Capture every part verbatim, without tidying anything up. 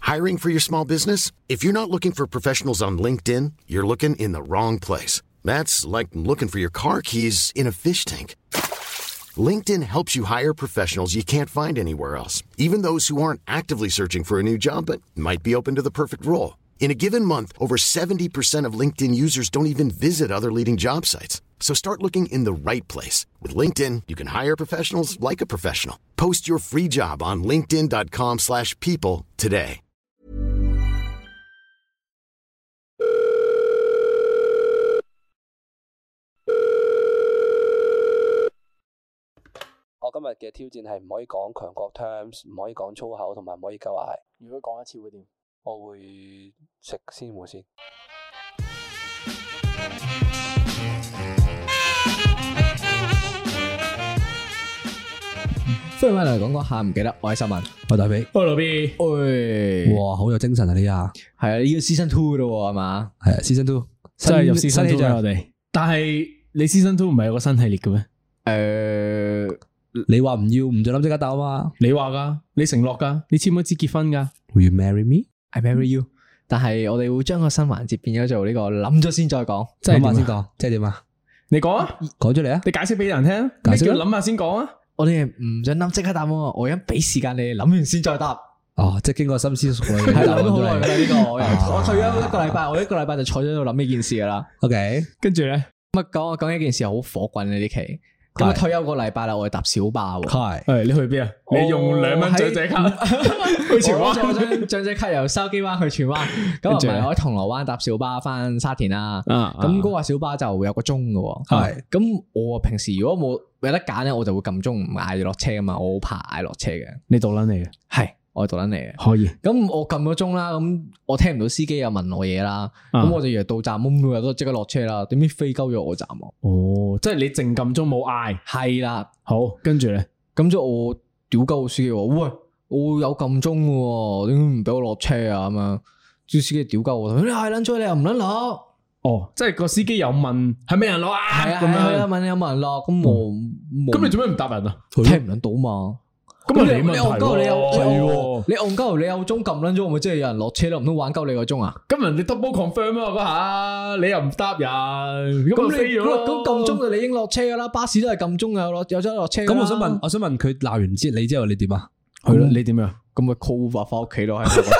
Hiring for your small business? If you're not looking for professionals on LinkedIn, you're looking in the wrong place. That's like looking for your car keys in a fish tank. LinkedIn helps you hire professionals you can't find anywhere else, even those who aren't actively searching for a new job but might be open to the perfect role. In a given month, over seventy percent of LinkedIn users don't even visit other leading job sites. So start looking in the right place. With LinkedIn, you can hire professionals like a professional. Post your free job on linkedin.com slash people today. 我今日嘅挑戰係唔可以講強國 terms， 唔可以講粗口，同埋唔可以鳩嗌。 如果講一次會點？ 我會食鮮芋先。 歡迎翻嚟講講下，唔記得我係秀文， 我大髀， 我老 B， 喂， 哇，好有精神啊呢下， 係啊，呢個 season two 咯，係嘛？ 係啊 season two， 真係入新 season two 氣象我哋。但係你 season two 唔係有個新系列嘅咩？ 誒， 你話唔要唔准諗即刻答啊嘛？ 你話噶，你承諾噶，你簽咗支結婚噶。 Will you marry me? I marry you。但係我哋會將個新環節變咗做呢個諗咗先再講， 即係諗下先講，即係點啊？ 你講啊， 講出嚟啊！ 你解釋俾人聽， 解釋啦咩叫諗下先講啊？ 我哋唔准諗即刻答喎，我而家俾時間你諗完先再答。 哦，即係經過深思熟慮嘅係答案出諗咗好耐㗎嚟。 啦呢個，我由我退咗一個禮拜，我一個禮拜就坐咗喺度諗呢件事噶啦。 OK， 跟住咧， 咁啊講講一件事好火滾嘅呢期，咁啊退休個禮拜啦，我哋搭小巴喎。 係誒，你去邊啊？你用兩蚊長者卡去荃灣， 我攞張長者卡由筲箕灣去荃灣，咁啊唔係我喺銅鑼灣搭小巴翻沙田啦。 啊咁嗰個小巴就有個鐘嘅， 係咁我平時如果冇有得揀咧，我就會撳鐘唔嗌落車噶嘛，我好怕嗌落車嘅。 你獨撚嚟嘅， 係我係獨撚嚟嘅。 可以。 咁我撳咗鐘啦，咁我聽唔到司機又問我嘢啦，咁、 啊我就以為到站，咁每日都即刻落車啦。點知飛鳩咗我站喎？ 哦，即係你淨撳鐘冇嗌。 係啦， 好，跟住咧， 咁咗我屌鳩個司機話：喂，我有撳鐘嘅，點解唔俾我落車啊？咁樣，啲司機屌鳩我，你嗌撚咗，你又唔撚落。 哦，即係個司機有問係咪人落啊？ 係啊， 咁係啊， 樣。 問你有冇人落，咁我冇咁你做咩唔答人啊？ 聽唔撚到嘛？ 咁啊你你問題戇鳩，你有喎係喎你戇鳩，你有鐘撳撚咗，我咪即係有人落車咯？唔通玩鳩你個鐘啊？ 咁人哋 double confirm 啊嗰下，你又唔答人，咁咁你咪飛咗咯。 咁撳鐘就你應落車噶啦，巴士都係撳鐘有落有咗落車㗎啦。 咁我想問，我想問佢鬧完之你之後你點啊？ 係咯，你點樣？ 咁咪 call Uber 翻屋企咯，喺度。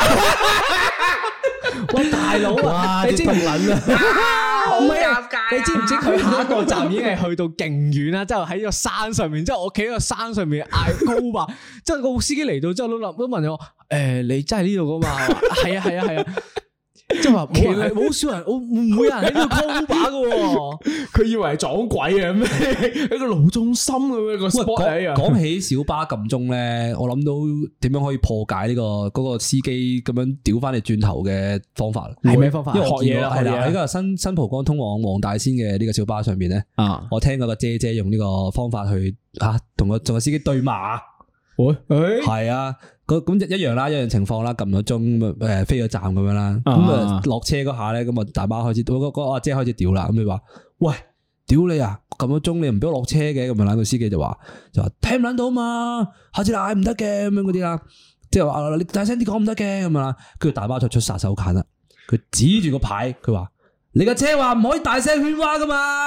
喂大佬啊，你知唔撚啊？唔係啊，你知唔知佢下一個站已經係去到勁遠啦？之後喺個山上面，之後我企喺個山上面嗌 call Uber，之後個司機嚟到之後都諗都問我：誒，你真係呢度噶嘛？係啊係啊係啊。即係話冇人，冇少人，我唔會有人喺呢度 call Uber 噶。 佢以為係撞鬼啊咩？喺個路中心咁樣個喂， spot 講講起小巴撳鐘咧，我諗到點樣可以破解呢個嗰個司機咁樣屌翻你轉頭嘅方法。 係咩方法？ 因為我見到係啦， 學嘢啦喺個新新蒲崗通往黃大仙嘅呢個小巴上邊咧， 啊， 我聽嗰個姐姐用呢個方法去啊，同個同個司機對罵。 喂，誒， 係啊，咁咁一樣啦，一樣情況啦，撳咗鐘誒飛咗站咁樣啦，咁啊落車嗰下咧，咁啊大巴開始，嗰嗰嗰阿姐開始屌啦，咁佢話：喂，屌你啊！撳咗鐘你唔俾我落車嘅，咁樣，個司機就話就話聽唔撚到嘛，下次嗌唔得嘅咁樣嗰啲啦，即係話你大聲啲講唔得嘅咁樣啦，跟住大巴就出殺手鐧啦，佢指住個牌，佢話。你架車話唔可以大聲喧嘩噶嘛？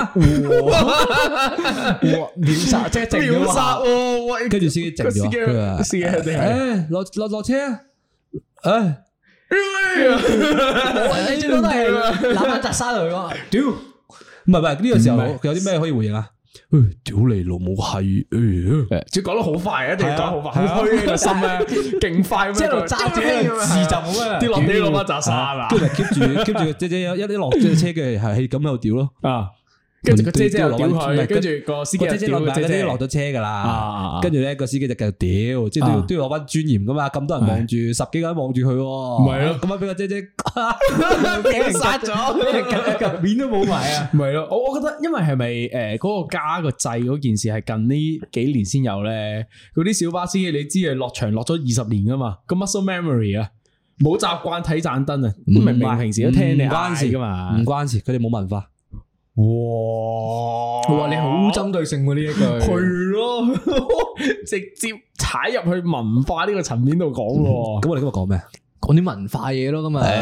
哇！秒殺即係靜秒殺咗喎！喂， 跟住司機靜咗，佢話： 司機一定係誒落落落車啊！誒， 你最多都係攬翻扎沙嚟講， 屌！唔係唔係呢個時候唔係佢有啲咩可以回應啊？誒，屌你老母係誒！ 只講得好快，一定要講好快，好虛個心咧，勁快咁樣， 即係喺度揸住呢個字就冇咩跌落地攞翻扎沙啊！ 跟住 keep 住 keep 住個姐姐一一落咗車嘅係係咁喺度屌咯。 啊！跟住個姐姐又屌唔佢， 係跟住個司機又個姐姐落埋屌個姐姐嗰啲落咗車噶啊啦啊， 跟住咧個司機就繼續屌，即係都要都要攞翻尊嚴噶嘛，咁多人望住，十幾個人望住佢，唔係咯咁啊俾個姐姐俾人殺咗， 面都冇埋啊！ 唔係咯，我我覺得因為係咪誒嗰個加個掣嗰件事係近呢幾年先有咧？嗰啲小巴司機你知係落場落咗二十年噶嘛，個 muscle memory 啊，冇習慣睇盞燈啊，明明平時都聽你關事嗌噶嘛， 唔關事，佢哋冇文化。 哇！ 哇！你好針對性喎呢一句， 係咯，直接踩入去文化呢個層面度講喎。 咁我哋今日講咩？ 講啲文化嘢咯，咁啊，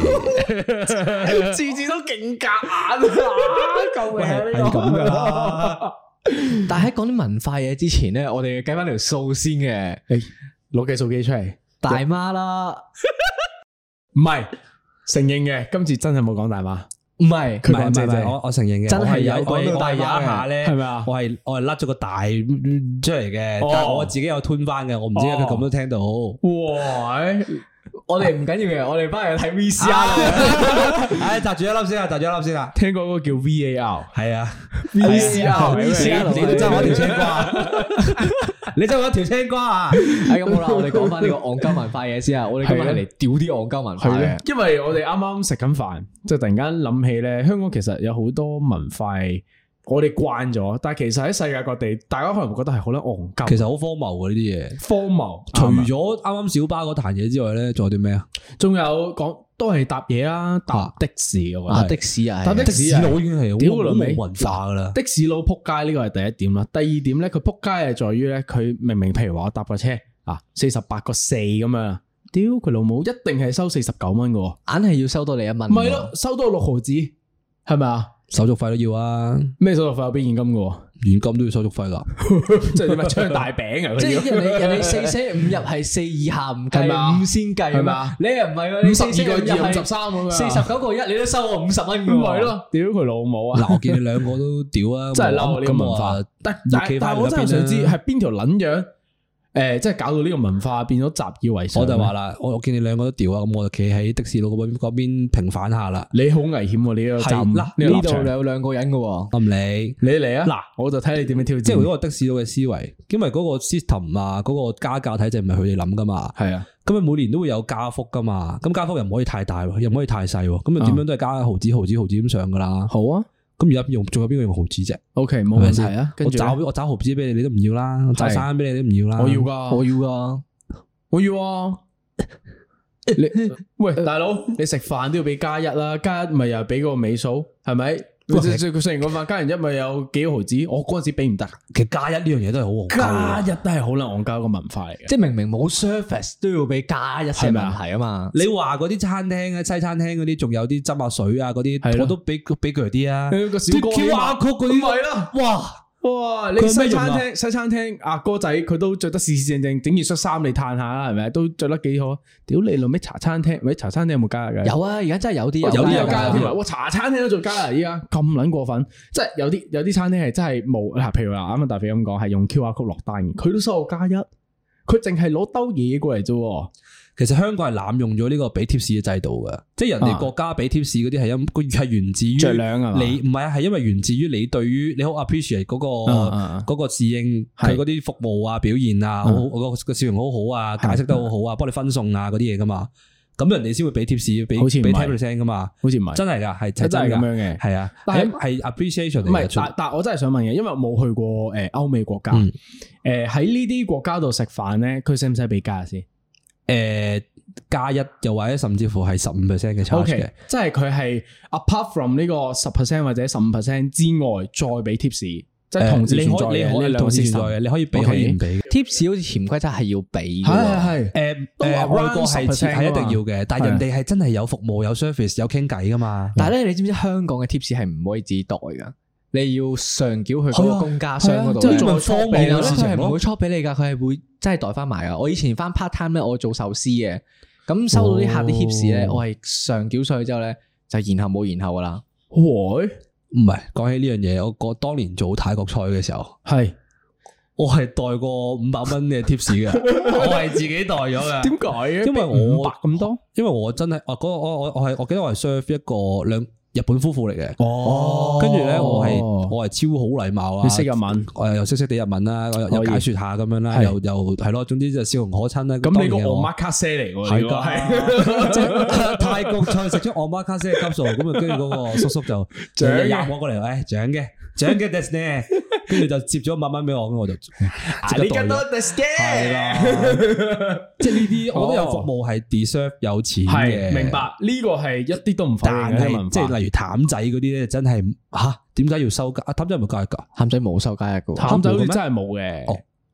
次次都勁夾硬啊！救命啊！ 係咁噶啦。但係喺講啲文化嘢之前咧，我哋計翻條數先嘅。 誒，攞計數機出嚟， 大媽啦， 唔係承認嘅，今次真係冇講大媽。 唔係， 佢唔係唔係唔係， 講姐姐， 我我承認嘅， 真係有我講到我係有一大媽嘅下咧， 係咪啊我係我係甩咗個大出嚟嘅， 哦但係我自己有吞翻嘅，我唔知佢咁都聽到。 哇！ 我哋唔緊要嘅，我哋翻去睇 V C R 啦。 唉，擲住一粒先啊，擲住一粒先啊。 聽過嗰個叫 V A R， 係啊 V C R V C R 你都爭我一條青瓜，你爭我一條青瓜啊！ 係咁好啦，我哋講翻呢個戇鳩文化嘢先啊。我哋今日係嚟屌啲戇鳩文化嘅。 因為我哋啱啱食緊飯，即係突然間諗起咧，香港其實有好多文化，我哋慣咗，但係其實喺世界各地，大家可能會覺得係好撚戇鳩。 其實好荒謬嘅呢啲嘢， 荒謬。 除咗啱啱小巴嗰壇嘢之外咧，仲有啲咩啊？ 仲有講都係搭嘢啦，搭的士我覺啊， 得的士啊， 搭的的士佬已經係好屌老味冇文化噶啦。 的士佬撲街呢個係第一點啦。第二點咧，佢撲街係在於咧，佢明明譬如話我搭個車啊，四十八個四咁樣，屌佢老母，一定係收四十九蚊嘅， 硬係要收多你一蚊。 唔係咯，收多六毫子，係咪啊？ 手續費都要啊， 咩手續費有俾現金嘅？ 現金都要手續費噶。 即係點啊？張大餅啊！ 即係佢要人哋人哋四捨五入係四以下唔係咪啊計，五先計係咪啊你又唔係喎，你五十二個二五十四三咁樣， 四十九個一，你都收我五十蚊嘅喎。 唔係咯？屌佢老母啊！ 嗱，我見你兩個都屌啊， 真係嬲呢個文化咁。 但要企翻但但我真係想知邊啦係邊條撚樣誒，即係搞到呢個文化變咗習以為常。 我就話啦，我我見你兩個都屌啊，咁我就企喺的士佬嗰邊嗰邊平反下啦。 你好危險喎！你呢個站係嗱呢個呢度立場有兩個人嘅喎。 我唔理。 你嚟啊！嗱，我就睇你點樣挑戰。 即係嗰個的士佬嘅思維，因為嗰個 system 啊，嗰個加價體制唔係佢哋諗噶嘛。 係啊， 咁佢每年都會有加幅噶嘛，咁加幅又唔可以太大，又唔可以太細，咁啊點樣都係加毫子毫子毫子咁上噶啦。 好啊。 咁而家用仲有邊個用毫子啫？ OK，冇問題啊。跟我住呢找我找毫子俾你，你都唔要啦；我找衫俾你，你都唔要啦。 我要噶， 我要噶， 我要啊！你喂，大佬，你食飯都要俾加一啦，加一咪又俾個尾數，係咪？佢佢食完個飯加完一咪有幾毫子？我嗰陣時俾唔得， 其實加一呢樣嘢都係好戇鳩嘅。 加一都係好撚戇鳩個文化嚟嘅。 即係明明冇 service 都要俾加一先問題啊嘛。 你話嗰啲餐廳啊、西餐廳嗰啲，仲有啲斟下水啊嗰係啲， 咯我都俾俾佢啲啊。 個小哥 Q R code 嗰啲， 係啦， 哇！ 哇！你佢有咩西用啊餐廳西餐廳阿哥仔佢都着得四四正正，整件恤衫你嘆下啦，係咪？都着得幾好。屌你老味茶餐廳，喂茶餐廳有冇加㗎？ 有啊，而家真係有啲有啲有有加添啊！哇茶餐廳都做加啊！依家咁撚過分，即係有啲有啲餐廳係真係冇嗱，譬如話啱啱大肥咁講，係用 Q R code 落單嘅，佢都收我加一，佢淨係攞兜嘢過嚟啫。 其實香港係濫用咗呢個俾貼士嘅制度嘅，即係人哋國家俾貼士嗰啲係因個係源自於着量係嘛你唔係啊，係因為源自於你對於你好 appreciate 嗰個嗰個侍應佢嗰啲服務啊、表現啊，好個個笑容好好啊，解釋得好好啊，幫你分送啊嗰啲嘢噶嘛，咁人哋先會俾貼士，俾好似唔係俾 ten percent 噶嘛， 好似唔係真係噶，係真係咁㗎樣嘅係啊， 但係係係 appreciation 嚟嘅唔係，但但我真係想問嘅，因為我冇去過誒歐美國家，誒喺呢啲國家度食飯咧，佢使唔使俾加先？ 誒。加一又或者甚至乎係十五 percent 嘅 charge 嘅， 即係佢係 apart from 呢個十 percent 或者十五 percent 之外，再俾 tips，即係同時存在嘅呢兩個同時 system 存在嘅，你可以俾可以唔俾。 tips 好似潛規則係要俾嘅， 係係係誒都話誒，外國 around 係十 percent 係一定要㗎嘛嘅，但係人哋係真係有服務、有 service、有傾偈噶嘛。 但係咧，你知唔知香港嘅 tips 係唔可以自己袋噶？你要上繳去嗰個公家箱嗰度， 係啊係啊即係做方便嘅事情咯佢係唔會 chop 俾你噶，佢係會真係袋翻埋噶。我以前翻 part time 咧，我做壽司嘅。咁收到啲客啲 tips 咧，我係上繳上去之後咧，就然後冇然後噶啦。 喂， 唔係講起呢樣嘢，我我當年做泰國菜嘅時候， 係我係袋過五百蚊嘅 tips 嘅，我係自己袋咗嘅。 點解嘅？ 因為我五百咁多， 因為我真係，我嗰我我我係我記得我係 serve 一個兩日本夫婦嚟嘅。 哦跟住咧，我係我係超好禮貌啊！ 你識日文， 我又識識地日文啦，我又又解說下咁樣啦， 係又又係咯，總之就笑容可親啦。 咁你個當然我 omakase 嚟喎， 係呢個噶，即係泰國菜食出 omakase 嘅級數，咁啊，跟住嗰個叔叔就就獎嘅入我過嚟，誒，獎嘅，獎嘅 des 呢，跟住就接咗一百蚊俾我，咁我就即刻袋咗。係啦，即係呢啲，我覺得有服務係 deserve 有錢嘅， 係明白呢個係一啲都唔否認但嘅文化， 係即係例如淡仔嗰啲咧，真係吓點解要收加？啊，淡仔係咪加一㗎？ 譚仔冇收加一個， 淡仔好似真係冇嘅。 哦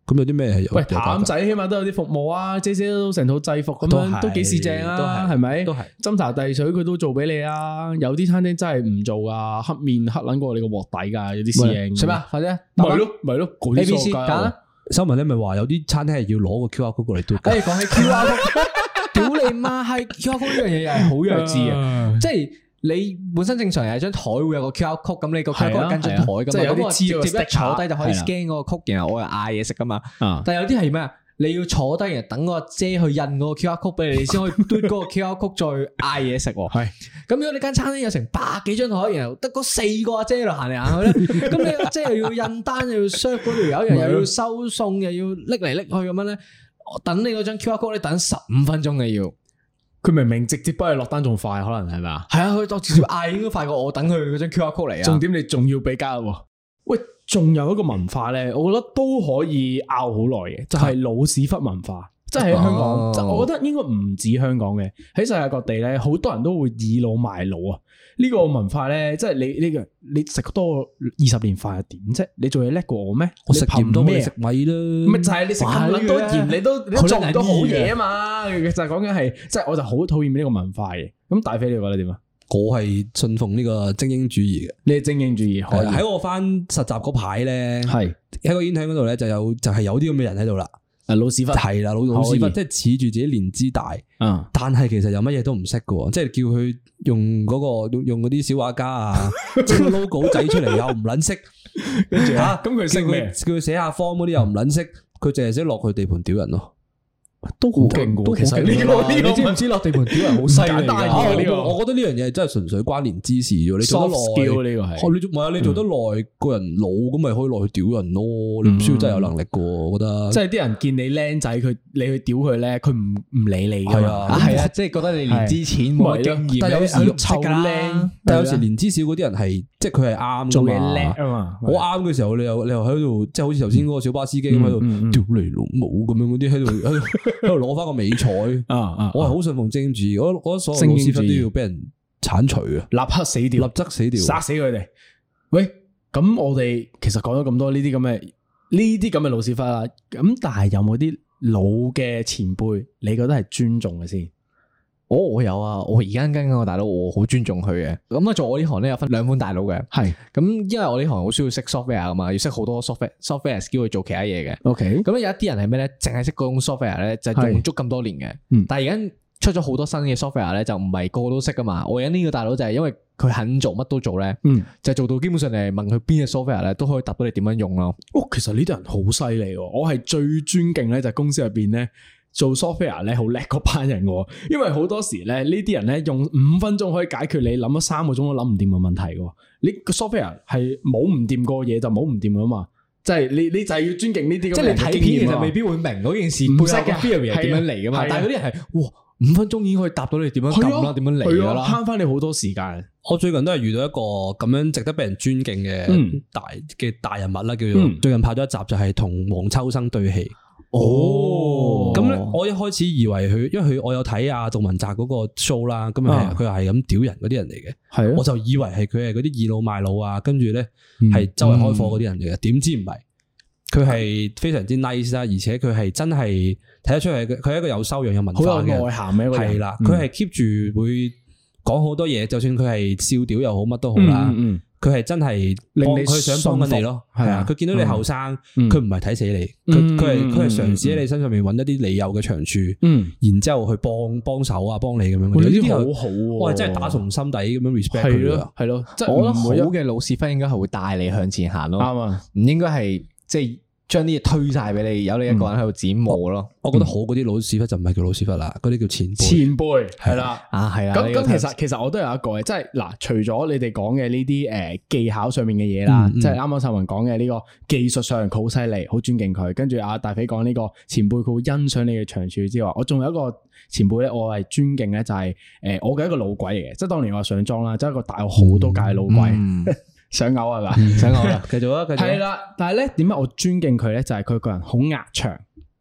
咁有啲咩係有？ 喂，譚仔起碼都有啲服務啊，姐姐都成套制服咁樣，都幾市正啊，係咪？ 都係斟茶遞水佢都做俾你啊。有啲餐廳真係唔做啊，黑面黑撚過你個鑊底噶，有啲侍應。 食咩？快啲， 咪咯咪咯 A B C 揀啦。 新聞咧咪話有啲餐廳係要攞個 Q R code 過嚟嘟。 誒，講起 Q R code，屌你媽係 Q R code 呢樣嘢又係好弱智啊！即係你本身正常係張台會有個 Q R code，咁你個 Q R code 跟張台噶嘛，咁我直接一坐低就可以 scan 嗰個 code，然後我又嗌嘢食噶嘛。但係有啲係咩啊？你要坐低，然後等個阿姐去印嗰個 Q R code 俾你，你先可以嘟嗰個 Q R code 再嗌嘢食。係咁，如果你間餐廳有成百幾張台，然後得嗰四個阿姐喺度行嚟行去咧，咁你阿姐又要印單，又要 serve 嗰條友，又又要收餸，又要拎嚟拎去咁樣咧，等你嗰張 Q R code 你等十五分鐘嘅要。 佢明明直接幫你落單仲快，可能係咪啊？ 係啊，佢當直接嗌應該快過我等佢嗰張 Q R code 嚟啊。 重點你仲要俾加喎。喂，仲有一個文化咧，我覺得都可以拗好耐嘅，就係、是、老屎忽文化。即係喺香港，啊、我覺得應該唔止香港嘅，喺世界各地咧，好多人都會倚老賣老啊。呢、這個文化咧，即係你呢個你食多二十年飯又點啫？你做嘢叻過我咩？ 我食鹽多過食米啦。 咪就係你食咁多鹽，你都你都做唔到好嘢啊嘛！就係講緊係，即係我就好討厭呢個文化嘅。咁大飛你覺得點啊？ 我係信奉呢個精英主義嘅。 你係精英主義，可以喺我翻實習嗰排咧， 係喺個 intern 嗰度咧就有就係、是、有啲咁嘅人喺度啦。 啊，老屎忽係啦，老老屎忽，即係恃住自己年資大，嗯，但係其實有乜嘢都唔識嘅，即係叫佢用嗰、嗰個用嗰啲小畫家啊，整個 logo 仔出嚟又唔撚識，跟住吓，咁佢識咩？叫佢寫下 form 嗰啲又唔撚識，佢淨係識落去地盤屌人咯。 都好勁嘅，其實呢個你知唔知落地盤屌人好犀利㗎？呢個我覺得呢樣嘢真係純粹關聯之事啫。你做得耐，呢個係你做唔係啊？你做得耐，個人老咁咪可以落去屌人咯。你唔需要真係有能力嘅，我覺得。即係啲人見你僆仔，佢你去屌佢咧，佢唔唔理你㗎嘛。係啊，即係覺得你年資淺冇經驗， 但有時臭靚， 但有時年資少嗰啲人係即係佢係啱做嘢叻啊嘛。 我啱嘅時候，你又你又喺度，即係好似頭先嗰個小巴司機咁喺度屌你老母咁樣嗰啲喺度喺度。喺度攞翻個美彩啊啊！我係好信奉精英主義，我我覺得所有老屎忽都要俾人鏟除啊， 立刻死掉， 立即死掉， 殺死佢哋。喂，咁我哋其實講咗咁多呢啲咁嘅呢啲咁嘅老屎忽啦，咁但係有冇啲老嘅前輩，你覺得係尊重嘅先？ 我、哦、我有啊，我而家跟緊個大佬，我好尊重佢嘅。咁啊，做我呢行咧有分兩款大佬嘅，係咁是，因為我呢行好需要識 software 噶嘛，要識好多 software software skill 去做其他嘢嘅。OK，咁有一啲人係咩咧？淨係識嗰種 software 咧，就係用足咁多年嘅。嗯，但係而家出咗好多新嘅 software 咧，就唔係個個都識噶嘛。我而家呢個大佬就係因為佢肯做乜都做咧，嗯，就做到基本上你問佢邊隻 software 咧，都可以答到你點樣用咯。哦， 其實呢啲人好犀利，我係最尊敬咧，就係公司入邊咧。做 software 咧好叻嗰班人嘅，因為好多時咧呢啲人咧用五分鐘可以解決你諗咗三個鐘都諗唔掂嘅問題嘅。你個 software 係冇唔掂過嘢就冇唔掂噶嘛，即係你你就係要尊敬呢啲。 即係你睇片其實未必會明嗰件事背後嘅 theory 係點樣嚟噶嘛，但係嗰啲人係哇五分鐘已經可以答到你點樣撳啦，點樣嚟噶啦， 慳翻你好多時間。 我最近都係遇到一個咁樣值得俾人尊敬嘅大嘅大人物啦，叫做最近拍咗一集就係同黃秋生對戲。哦，咁咧，我一開始以為佢，因為佢我有睇阿杜汶澤嗰個 show 啦，咁啊，佢係咁屌人嗰啲人嚟嘅，係，我就以為係佢係嗰啲倚老賣老啊，跟住咧係周圍開課嗰啲人嚟嘅，點知唔係，佢係非常之 nice 啦，而且佢係真係睇得出係佢係一個有修養、有文化嘅， 好有內涵嘅一個人， 係啦，佢係 keep 住會講好多嘢，就算佢係笑屌又好，乜都好啦。佢係真係令你佢想幫緊你咯，係啊！佢見到你後生，佢唔係睇死你，佢佢係佢係嘗試喺你身上面揾一啲你有嘅長處，嗯，然之後去幫幫手啊，幫你咁樣。呢啲好好，我係真係打從心底咁樣 respect 佢咯，係咯。 即係我覺得好嘅老屎忽應該係會帶你向前行咯，啱啊！唔應該係即係將啲嘢推晒俾你，有你一個人喺度剪磨咯。 我覺得好嗰啲老屎忽就唔係叫老屎忽啦，嗰啲叫前輩。 前輩係啦， 啊係啊。 咁咁其實其實我都有一個嘅，即係嗱，除咗你哋講嘅呢啲誒技巧上面嘅嘢啦，即係啱啱秀文講嘅呢個技術上好犀利，好尊敬佢。跟住阿大飛講呢個前輩，佢會欣賞你嘅長處之外，我仲有一個前輩咧，我係尊敬咧，就係誒我嘅一個老鬼嚟嘅，即係當年我上莊啦，即係一個大我好多屆老鬼。想嘔係嘛？ 想嘔啦！繼續啊，繼續。 係啦，但係咧，點解我尊敬佢咧？就係佢個人好壓場，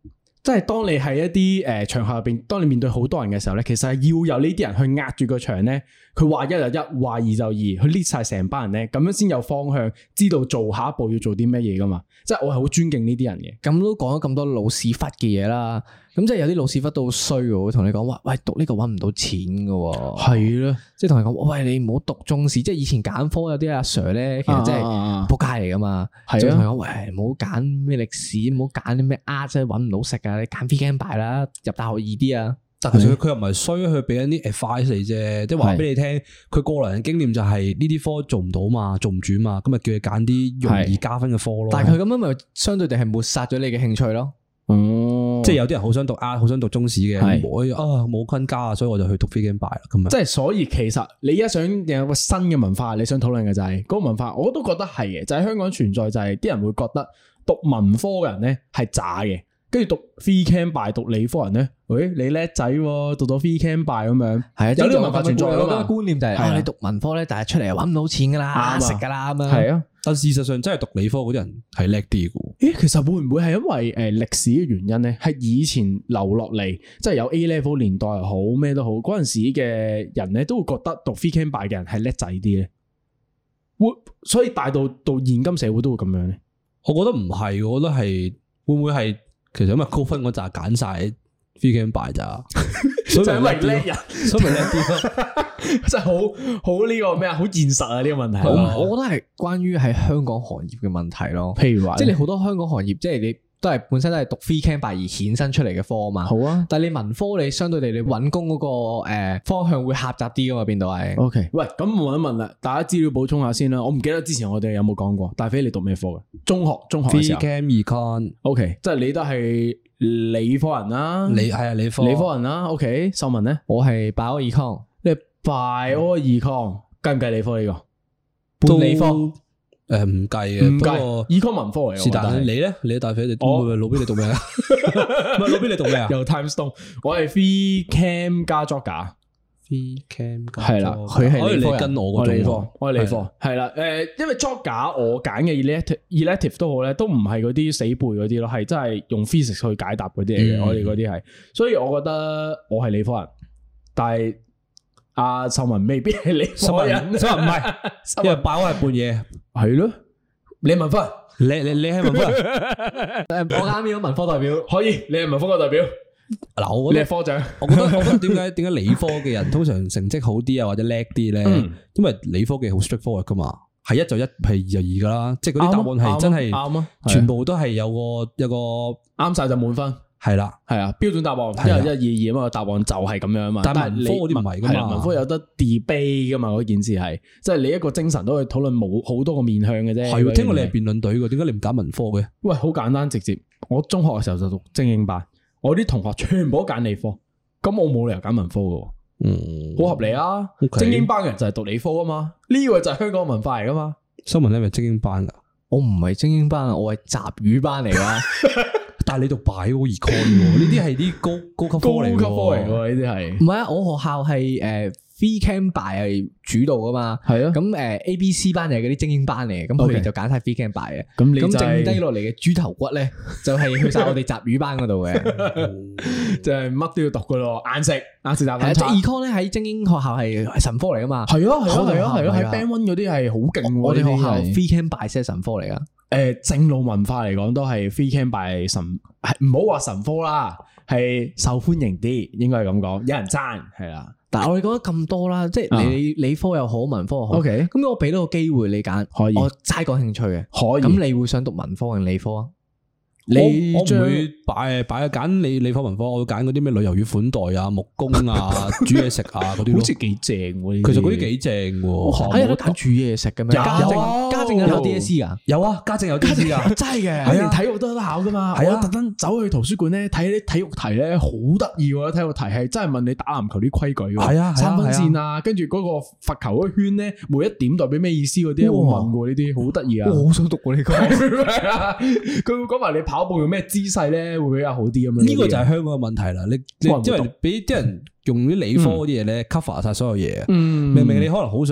即係當你喺一啲誒場合入邊，當你面對好多人嘅時候咧，其實係要有呢啲人去壓住個場咧。佢話一就一，話二就二，去 lead 晒成班人咧，咁樣先有方向，知道做下一步要做啲咩嘢噶嘛。即係我係好尊敬呢啲人嘅。 咁都講咗咁多老屎忽嘅嘢啦，咁即係有啲老屎忽都好衰嘅，會同你講話，喂，讀呢個搵唔到錢嘅。係咯，即係同你講，喂，你唔好讀中史，即係以前揀科有啲阿 Sir 咧，其實真係仆街嚟噶嘛。係啊，同你講，喂，唔好揀咩歷史，唔好揀啲咩 art，即係搵唔到食啊，你揀 Phy Chem Bio 啦，入大學易啲啊。 但其實佢又唔係衰，佢俾緊啲 advice 你啫，即係話俾你聽，佢個人嘅經驗就係呢啲科做唔到嘛，做唔住嘛，咁咪叫你揀啲容易加分嘅科咯。 但係佢咁樣咪相對地係抹殺咗你嘅興趣咯。 哦，即係有啲人好想讀 art，好想讀中史嘅，我啊冇昆加啊，所以我就去讀 Phy Chem Bio 啦。咁啊， 即係所以其實你而家想有個新嘅文化，你想討論嘅就係嗰個文化，我都覺得係嘅，就係香港存在就係啲人會覺得讀文科嘅人咧係渣嘅。跟住讀 Phy Chem Bio 讀理科人咧，喂，你叻仔喎，讀到 Phy Chem Bio 咁樣，係啊，有呢個文化存在啊嘛。 觀念就係啊，你讀文科咧，但係出嚟搵唔到錢噶啦，食噶啦咁樣。 係啊， 但事實上真係讀理科嗰啲人係叻啲嘅。 誒，其實會唔會係因為誒歷史嘅原因咧？係以前留落嚟，即係有 A level 年代又好，咩都好，嗰陣時嘅人咧都會覺得讀 Phy Chem Bio 嘅人係叻仔啲咧。會，所以帶到到現今社會都會咁樣咧。 我覺得唔係，我覺得係會唔會係？其實因為高分嗰扎揀晒 Phy Chem Bio 咋，所以就因為叻人，所以咪叻啲咯。 真係好好呢個咩啊？好現實啊！呢個問題， 我我覺得係關於喺香港行業嘅問題咯。譬如話，即係你好多香港行業，即係你都係本身都係讀 Phy Chem Bio 而衍生出嚟嘅科啊嘛。好啊，但係你文科你相對地你揾工嗰個誒方向會狹窄啲噶嘛？邊度係 ？OK，喂，咁我問一問啦，大家資料補充下先啦。我唔記得之前我哋有冇講過，大飛你讀咩科嘅？中學中學嘅時候 Phy Chem Econ。OK， 即係你都係理科人啦。 你係啊，理科理科人啦。OK，秀文咧， 我係 Bio Econ。 你 Bio Econ 計唔計理科呢個？半理科。 誒，唔計嘅， 唔計。Econ 文科嚟嘅。 是但你咧，你大飛你我老邊你讀咩啊？唔係老邊你讀咩啊？ 又 Time Stone，我係 Phy Chem 加 Joga。Phy Chem 係啦，佢係理科人， 跟我嗰種， 我係理科，係啦。誒，因為 Joga 我揀嘅 elective elective 都好咧，都唔係嗰啲死背嗰啲咯，係真係用 physics 去解答嗰啲嚟嘅。我哋嗰啲係，所以我覺得我係理科人，但係阿秀文未必係理科人， 秀文唔係，因為爆係半夜。 係咯，你文科， 你你你係文科， 我啱啱文科代表， 可以，你係文科嘅代表。 嗱，我覺得你係科長， 我覺得我覺得點解點解理科嘅人通常成績好啲啊，或者叻啲咧？因為理科嘅好 straightforward 噶嘛，係一就一，係二就二噶啦，即係嗰啲答案係真係啱啊，全部都係有個有個啱晒就滿分。 係啦， 係啊，標準答案，一一二二啊嘛，答案就係咁樣啊嘛。但係文科嗰啲唔係噶嘛，文科有得 debate 噶嘛，嗰件事係，即係你一個精神都可以討論冇好多個面向嘅啫。 係，聽過你係辯論隊嘅，點解你唔揀文科嘅？ 喂，好簡單直接，我中學嘅時候就讀精英班，我啲同學全部都揀理科，咁我冇理由揀文科嘅。嗯，好合理啊。精英班嘅人就係讀理科啊嘛，呢個就係香港文化嚟噶嘛。 新聞咧係咪精英班噶？ 我唔係精英班啊，我係雜語班嚟噶。 但係你讀 Bio Econ 呢啲係啲高高級科嚟，高級科嚟喎，呢啲係。 唔係啊，我學校係誒 Phy Chem Bio 係主導噶嘛。係啊。咁誒 A B C 班就係嗰啲精英班嚟嘅，咁佢哋就揀晒 Phy Chem Bio 嘅。咁咁剩低落嚟嘅豬頭骨咧，就係去晒我哋雜語班嗰度嘅， 就係乜都要讀噶咯，硬食硬食雜飯。 即係 Econ 咧喺精英學校係神科嚟噶嘛。 係啊係啊係啊係啊，喺 Band One嗰啲係好勁。 我哋學校 Phy Chem Bio 先係神科嚟噶。 誒，正路文化嚟講都係 Phy Chem Bio 神，係唔好話神科啦，係受歡迎啲，應該係咁講，有人爭係啦。 但係我哋講咗咁多啦，即係你理科又好，文科又好，OK，咁我俾到個機會你揀，可以，我齋講興趣嘅，可以。咁你會想讀文科定理科啊？ 你我唔會擺擺揀理理科文科，我會揀嗰啲咩旅遊與款待啊、木工啊、煮嘢食啊嗰啲， 好似幾正喎。 其實嗰啲幾正喎。 喺度揀煮嘢食嘅咩？家政家政有 D S E 噶？ 有啊，家政有 D S E 噶， 真係嘅。係啊，體育都有得考噶嘛。係啊，特登走去圖書館咧睇啲體育題咧，好得意喎！體育題係真係問你打籃球啲規矩。係啊，三分線啊，跟住嗰個罰球嗰圈咧，每一點代表咩意思嗰啲，會問過呢啲，好得意啊！ 我好想讀過呢個。 佢會講埋你跑步用咩姿勢咧，會比較好啲咁樣。 呢個就係香港嘅問題啦。你你因為俾啲人用啲理科嗰啲嘢咧 cover 晒所有嘢。明明你可能好想讀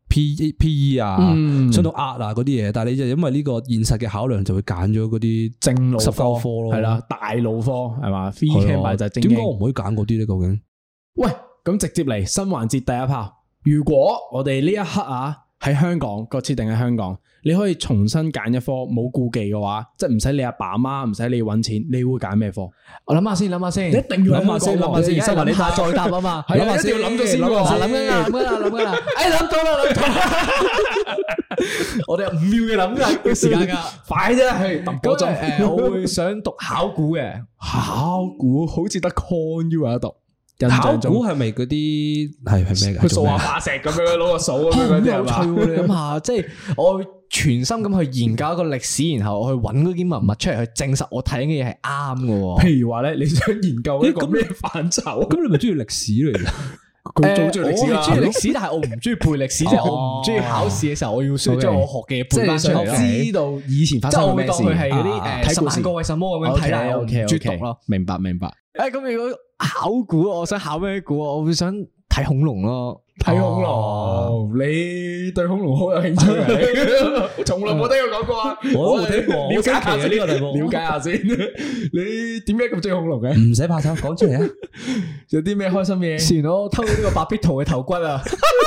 P P E 啊， 嗯想讀 art 啊嗰啲嘢，但係你就因為呢個現實嘅考量，就會揀咗嗰啲正路十九科科咯， 係啦，大路科係嘛 ，free camp 埋就係正經。 點解我唔可以揀嗰啲咧？究竟？ 喂，咁直接嚟新環節第一炮。如果我哋呢一刻啊喺香港個設定喺香港，你可以重新揀一科冇顧忌嘅話，即係唔使你阿爸阿媽，唔使你搵錢，你會揀咩科？ 我諗下先，諗下先， 一定要諗下先，諗下先，新聞你下再答啊嘛， 諗下先，諗咗先，諗諗緊啦，諗緊啦，諗緊啦，哎，諗到啦，諗到啦，我哋有五秒嘅諗嘅時間噶， 快啫，係揼嗰陣。 誒，我會想讀考古嘅， 考古好似得 Con U 有得讀。 考古係咪嗰啲係係咩㗎？ 佢掃下化石咁樣，攞個掃咁樣嗰啲係嘛？ 有趣喎！你諗下，即係我全心咁去研究一個歷史，然後我去揾嗰啲文物出嚟去證實我睇嘅嘢係啱嘅。 譬如話咧，你想研究一個咩範疇？ 咁你咪中意歷史嚟嘅？ 佢最中意歷史啦， 我係中意歷史，但係我唔中意背歷史，即係我唔中意考試嘅時候，我要需要將我學嘅嘢背翻出嚟咯。 知道以前發生咩事， 即係我會當佢係嗰啲誒十萬個為什麼咁樣睇下，我唔中意讀咯。 明白明白。 誒，咁如果考古，我想考咩古？我會想睇恐龍咯， 睇恐龍。你對恐龍好有興趣嘅？我從來冇聽過講過啊！ 我都冇聽過， 了解下呢個題目， 了解下先。你點解咁中意恐龍嘅？ 唔使怕醜，講出嚟啊！ 有啲咩開心嘢？ 前我偷咗呢個白必圖嘅頭骨啊！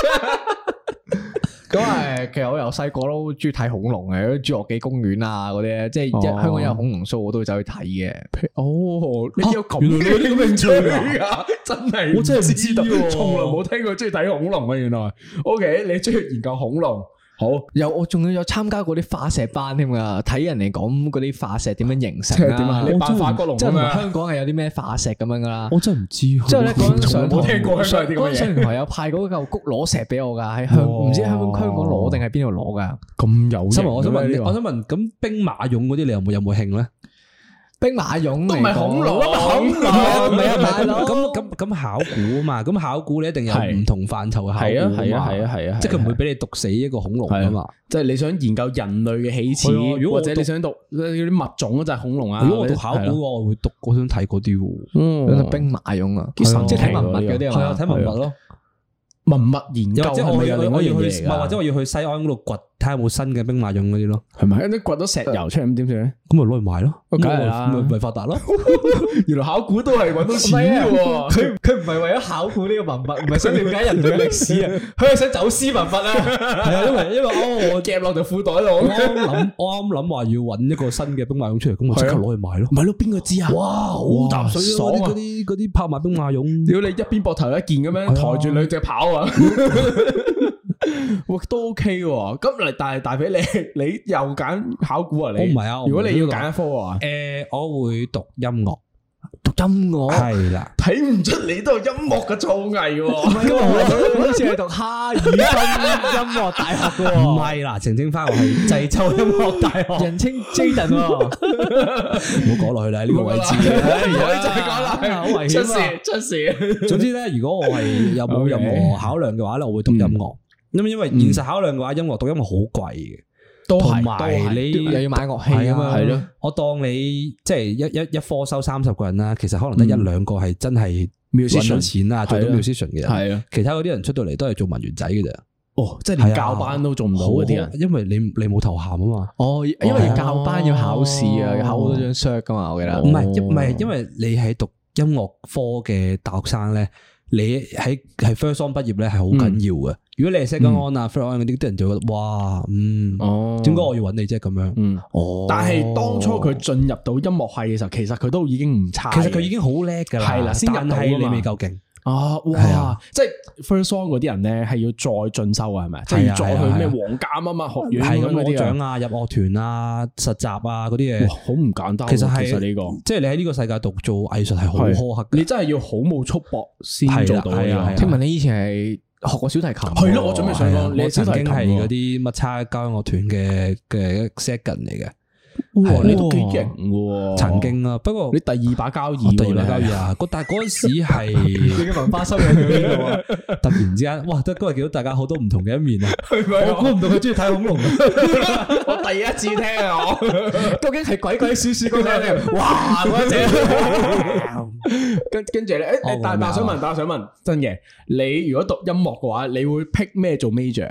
咁誒，其實我由細個都中意睇恐龍嘅，侏羅紀公園啊嗰啲咧，即係一香港有恐龍 show，我都會走去睇嘅。 哦，你有咁嘅呢個興趣啊？真係我真係唔知道，從來冇聽過中意睇恐龍啊！原來，OK，你中意研究恐龍？好， 有我仲要有參加過啲化石班添噶，睇人哋講嗰啲化石點樣形成啊？ 點啊？你扮化骨龍即係香港係有啲咩化石咁樣噶啦？ 我真係唔知。 之後咧嗰陣上冇聽過香港啲咁嘅嘢。 嗰陣上堂有派嗰嚿谷攞石俾我噶，喺香唔知香港香港攞定係邊度攞噶？ 咁有型。 我想問，我想問，咁兵馬俑嗰啲你有冇有冇興咧？ 兵馬俑都唔係恐龍， 恐龍唔係啊大佬。 咁咁咁考古啊嘛，咁考古你一定有唔同範疇嘅考古。 係啊係啊係啊係啊， 即係佢唔會俾你毒死一個恐龍啊嘛。 即係你想研究人類嘅起始，或者你想讀嗰啲物種就係恐龍啊。 如果我讀考古，我會讀，我想睇嗰啲喎。 嗯，兵馬俑啊，即係睇文物嗰啲啊， 係啊，睇文物咯。 文物研究即係我要我要去， 或者我要去西安嗰度掘，睇下有冇新嘅兵馬俑嗰啲咯。 係咪？你掘到石油出嚟咁點算咧？ 咁咪攞去賣咯， 梗係啦， 咪咪發達咯。 原來考古都係搵到錢嘅喎。 佢佢唔係為咗考古呢個文物，唔係想了解人類歷史啊，佢係想走私文物啊。 係啊，因為因為哦， 我夾落條褲袋度。 我啱諗，我啱諗話要搵一個新嘅兵馬俑出嚟，咁我即刻攞去賣咯。 咪咯，邊個知啊？ 哇，好搭水啊！嗰啲嗰啲拍賣兵馬俑， 屌你一邊膊頭一件咁樣抬住兩隻跑啊！哇，都 OK 喎。咁嚟，但係大肥你你又揀考古啊？你我唔係啊。 如果你要揀一科嘅話， 誒，我會讀音樂。 讀音樂係啦， 睇唔出你都係音樂嘅造詣喎。 唔係喎，好似係讀哈爾濱音樂大學嘅喎。 唔係啦，澄清翻我係濟州音樂大學， 人稱 Jaden 喎。 唔好講落去啦，呢個位置。 唔好再講啦， 好危險啊！ 出事出事。 總之咧，如果我係有冇任何考量嘅話咧，我會讀音樂。咁因為現實考量嘅話，音樂讀音樂好貴嘅。 都係， 同埋你又要買樂器啊嘛， 係咯。 我當你即係一一一科收三十個人啦，其實可能得一兩個係真係搵到錢啦，做到 musician 嘅人。係啊，其他嗰啲人出到嚟都係做文員仔嘅咋。 哦，即係連教班都做唔到嗰啲人， 因為你你冇頭銜啊嘛。 哦，因為教班要考試啊，要考好多張 cert 噶嘛，我記得。 唔係唔係，因為你係讀音樂科嘅大學生咧，你喺係 first on 畢業咧係好緊要嘅。如果你係 second on 啊 third on 嗰啲，啲人就覺得哇，嗯，哦，點解我要揾你啫？咁樣， 嗯，哦。但係當初佢進入到音樂系嘅時候，其實佢都已經唔差。 其實佢已經好叻噶啦， 係啦，先入到你未夠勁。 啊，哇！即係 first on 嗰啲人咧，係要再進修啊，係咪？即係要再去咩皇家啊嘛學院咁嗰啲獎啊，入樂團啊、實習啊嗰啲嘢，好唔簡單。其實係呢個，即係你喺呢個世界度做藝術係好苛刻，你真係要好冇束縛先做到嘅。 聽聞你以前係學過小提琴， 係咯，我準備想講， 你曾經係嗰啲乜叉交響樂團嘅嘅 second 嚟嘅。 哇，你都幾型喎！ 曾經啊，不過你第二把交椅， 第二把交椅啊！但係嗰陣時係你嘅文化修養去邊度啊？ 突然之間，哇！得嗰日見到大家好多唔同嘅一面啊！ 我估唔到佢中意睇恐龍， 我第一次聽啊！我究竟係鬼鬼祟祟嗰隻？哇！嗰隻，跟跟住咧，誒，但但想問，但想問，真嘅，你如果讀音樂嘅話，你會 pick 咩做 major 啊？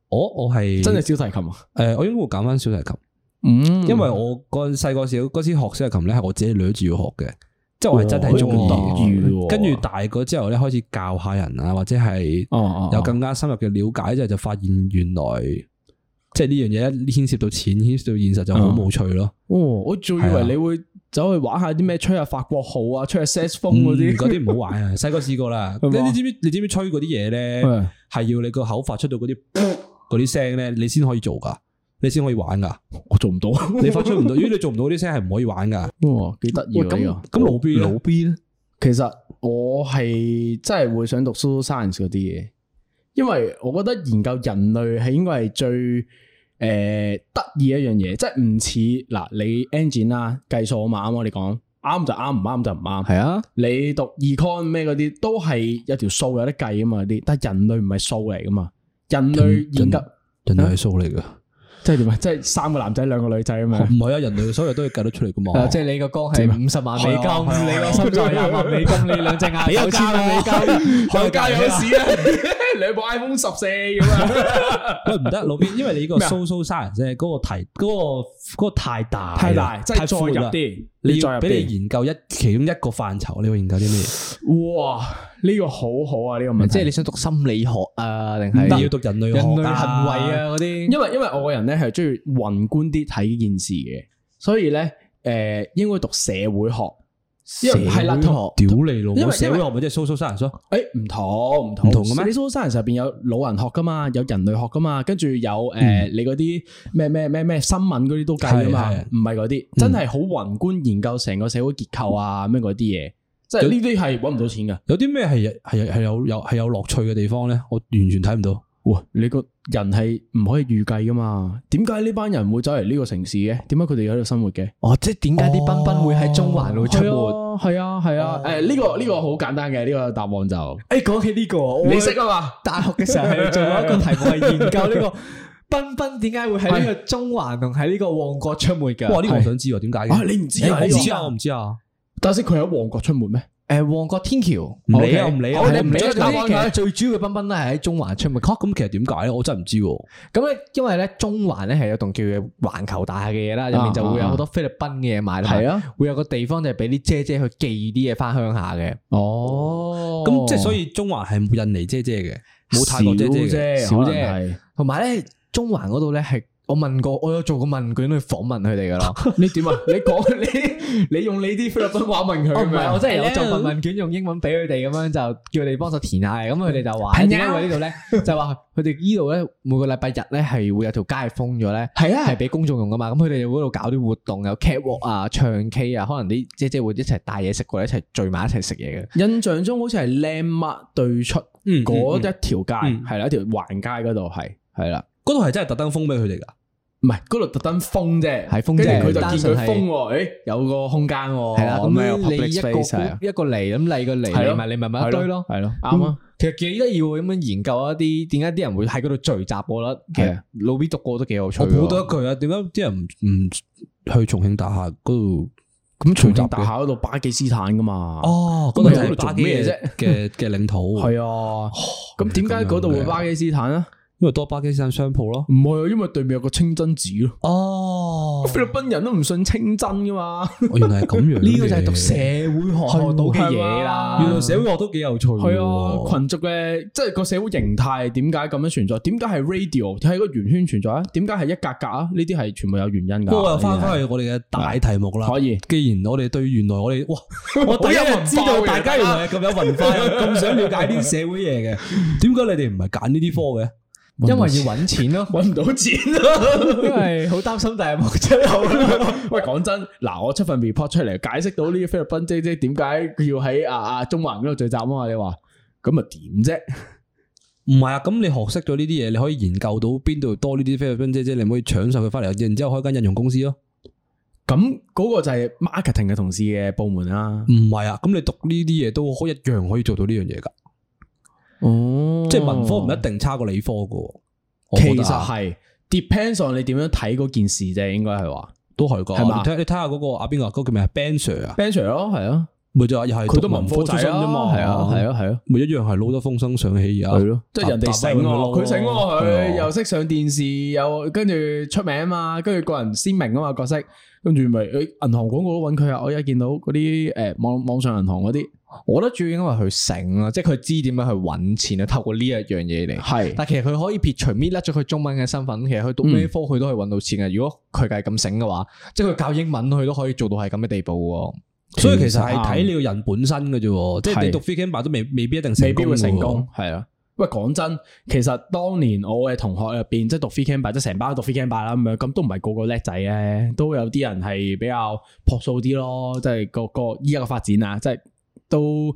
我我係真係小提琴啊？ 誒，我應該會揀翻小提琴。 嗯， 因為我個細個時嗰時學小提琴咧，係我自己掠住要學嘅，即係我係真係中意。跟住大個之後咧，開始教下人啊，或者係有更加深入嘅了解之後，就發現原來即係呢樣嘢一牽涉到錢，牽涉到現實就好冇趣咯。哦， 我仲以為你會走去玩下啲咩吹下法國號啊，吹下 saxophone 嗰啲， 嗰啲唔好玩啊！細個試過啦，你你知唔知？你知唔知吹嗰啲嘢咧，係要你個口發出到嗰啲嗰啲聲咧，你先可以做噶。你先可以玩噶， 我做唔到， 你發出唔到。如果你做唔到啲聲，係唔可以玩噶。 哇，幾得意啊！ 咁咁老 B 老 B 咧，其實我係真係會想讀 social science 嗰啲嘢，因為我覺得研究人類係應該係最誒得意一樣嘢，即係唔似嗱你 engine 啦，計數啊嘛，啱我哋講啱就啱，唔啱就唔啱。係啊，你讀 econ 咩嗰啲都係有條數有得計啊嘛啲，但係人類唔係數嚟噶嘛，人類研究人類係數嚟噶。 即係點啊？即係三個男仔兩個女仔咁樣？ 唔係啊，人類所有都要計得出嚟噶嘛。 即係你個缸係五十萬美金，你個心臟廿萬美金，你兩隻眼九千萬美金， 行街有事啊！兩部 iPhone 十四咁啊！ 喂，唔得，老邊，因為你呢個 social science 啫，嗰個題，嗰個嗰個太大， 太大，即係再入啲，你要俾你研究一其中一個範疇，你會研究啲咩？ 哇！呢個好好啊！呢個問題， 即係你想讀心理學啊，定係要讀人類人類行為啊嗰啲？ 因為因為我個人咧係中意宏觀啲睇呢件事嘅，所以咧誒應該讀社會學。 社會學屌你老母！社會學咪即係 social science 咯？ 誒唔同唔同唔同嘅咩？你 social science 入邊有老人學噶嘛，有人類學噶嘛，跟住有誒你嗰啲咩咩咩咩新聞嗰啲都計噶嘛，唔係嗰啲真係好宏觀研究成個社會結構啊咩嗰啲嘢。即係呢啲係搵唔到錢噶， 有啲咩係係係有有係有樂趣嘅地方咧？我完全睇唔到。 哇！你個人係唔可以預計噶嘛？點解呢班人會走嚟呢個城市嘅？點解佢哋喺度生活嘅？ 哦，即係點解啲賓賓會喺中環度出沒？ 係啊係啊，誒呢個呢個好簡單嘅呢個答案就，誒講起呢個， 你識啊嘛？ 大學嘅時候係做咗一個題目係研究呢個賓賓點解會喺呢個中環同喺呢個旺角出沒嘅？ 哇！呢個我想知喎，點解嘅？ 你唔知啊？ 我唔知啊，我唔知啊。 但係佢喺旺角出沒咩？ 誒，旺角天橋唔理啊，唔理啊， 我哋唔理啊。其實最主要嘅賓賓咧係喺中環出沒。 咁其實點解咧？我真係唔知。 咁咧，因為咧中環咧係有棟叫嘅環球大廈嘅嘢啦，入面就會有好多菲律賓嘅嘢賣啦。係啊，會有個地方就係俾啲姐姐去寄啲嘢翻鄉下嘅。 哦， 咁即係所以中環係冇印尼姐姐嘅，冇泰國姐姐嘅， 少啫。 同埋咧，中環嗰度咧係。我問過，我有做過問卷去訪問佢哋噶啦。 你點啊？你講你你用你啲菲律賓話問佢？ 唔係，我真係有做份問卷，用英文俾佢哋咁樣，就叫佢哋幫手填下。咁佢哋就話，點解會呢度咧？就話佢哋呢度咧，每個禮拜日咧係會有條街封咗咧，係啊，係俾公眾用噶嘛。咁佢哋嗰度搞啲活動，有 catwalk 啊、唱 K 啊，可能啲姐姐會一齊帶嘢食過嚟，一齊聚埋一齊食嘢嘅。印象中好似係 Landmark 對出嗰一條街，係啦，一條橫街嗰度係係啦， 嗰度係真係特登封俾佢哋噶。 唔係，嗰度特登封啫， 係封啫。 佢就見佢封，誒，有個空間，係啦。咁你一個一個嚟，咁你個嚟，嚟埋你咪咪一堆咯，係咯，啱啊。其實幾得意喎，咁樣研究一啲點解啲人會喺嗰度聚集，我覺得其實老 B 讀過都幾有趣。 我補多一句啊，點解啲人唔唔去重慶大廈嗰度？ 咁重慶大廈嗰度巴基斯坦噶嘛？ 哦，嗰度係巴基咩啫？嘅嘅領土係啊。咁點解嗰度會巴基斯坦啊？ 因為多巴基斯坦商鋪咯， 唔係啊，因為對面有個清真寺咯。 哦， 菲律賓人都唔信清真噶嘛。 我原來係咁樣， 呢個就係讀社會學學到嘅嘢啦。 原來社會學都幾有趣。 係啊，群族嘅即係個社會形態點解咁樣存在？點解係 radio 喺個圓圈存在啊？點解係一格格啊？呢啲係全部有原因噶。 不過又翻翻去我哋嘅大題目啦。 可以， 既然我哋對原來我哋哇，我第一日知道大家原來係咁有文化，咁想了解啲社會嘢嘅，點解你哋唔係揀呢啲科嘅？ 因為要搵錢咯， 搵唔到錢咯， 因為好擔心第日冇出口。 喂，講真，嗱，我出份 report 出嚟解釋到呢啲菲律賓姐姐點解佢要喺啊啊中環嗰度聚集啊嘛？你話咁啊點啫？ 唔係啊，咁你學識咗呢啲嘢，你可以研究到邊度多呢啲菲律賓姐姐，你可以搶晒佢翻嚟，然之後開間印傭公司咯。 咁嗰個就係 marketing 嘅同事嘅部門啦。 唔係啊，咁你讀呢啲嘢都一樣可以做到呢樣嘢噶。哦，即係文科唔一定差過理科噶， 其實係 depends on 你點樣睇嗰件事啫，應該係話都係噶， 係嘛？ 你睇你睇下嗰個阿邊個，嗰個叫咩啊 Ben Sir 啊 Ben Sir 咯，係啊， 咪就係又係佢都文科仔啫嘛， 係啊係啊係啊， 咪一樣係撈得風生水起而家。 係咯，即係人哋醒喎，佢醒喎，佢係又識上電視，又跟住出名啊嘛，跟住個人鮮明啊嘛角色，跟住咪誒銀行廣告都揾佢啊！我而家見到嗰啲誒網網上銀行嗰啲， 我覺得主要應該係佢醒啦，即係佢知點樣去揾錢啊，透過呢一樣嘢嚟。係，但係其實佢可以撇除搣甩咗佢中文嘅身份，其實佢讀咩科佢都可以揾到錢嘅。如果佢係咁醒嘅話，即係佢教英文佢都可以做到係咁嘅地步喎。 所以其實係睇你個人本身嘅啫，即係你讀 free camp 都未未必一定未必會成功。係啊，喂，講真，其實當年我嘅同學入邊，即係讀 free camp 即係成班都讀 free camp 啦咁樣，咁都唔係個個叻仔咧，都有啲人係比較樸素啲咯，即係個個依家嘅發展啊，即係都